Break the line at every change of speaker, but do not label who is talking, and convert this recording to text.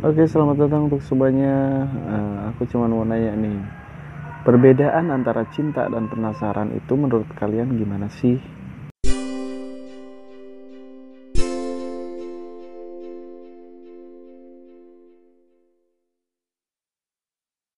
Oke, selamat datang untuk semuanya. Aku cuma mau nanya nih, perbedaan antara cinta dan penasaran itu menurut kalian gimana sih?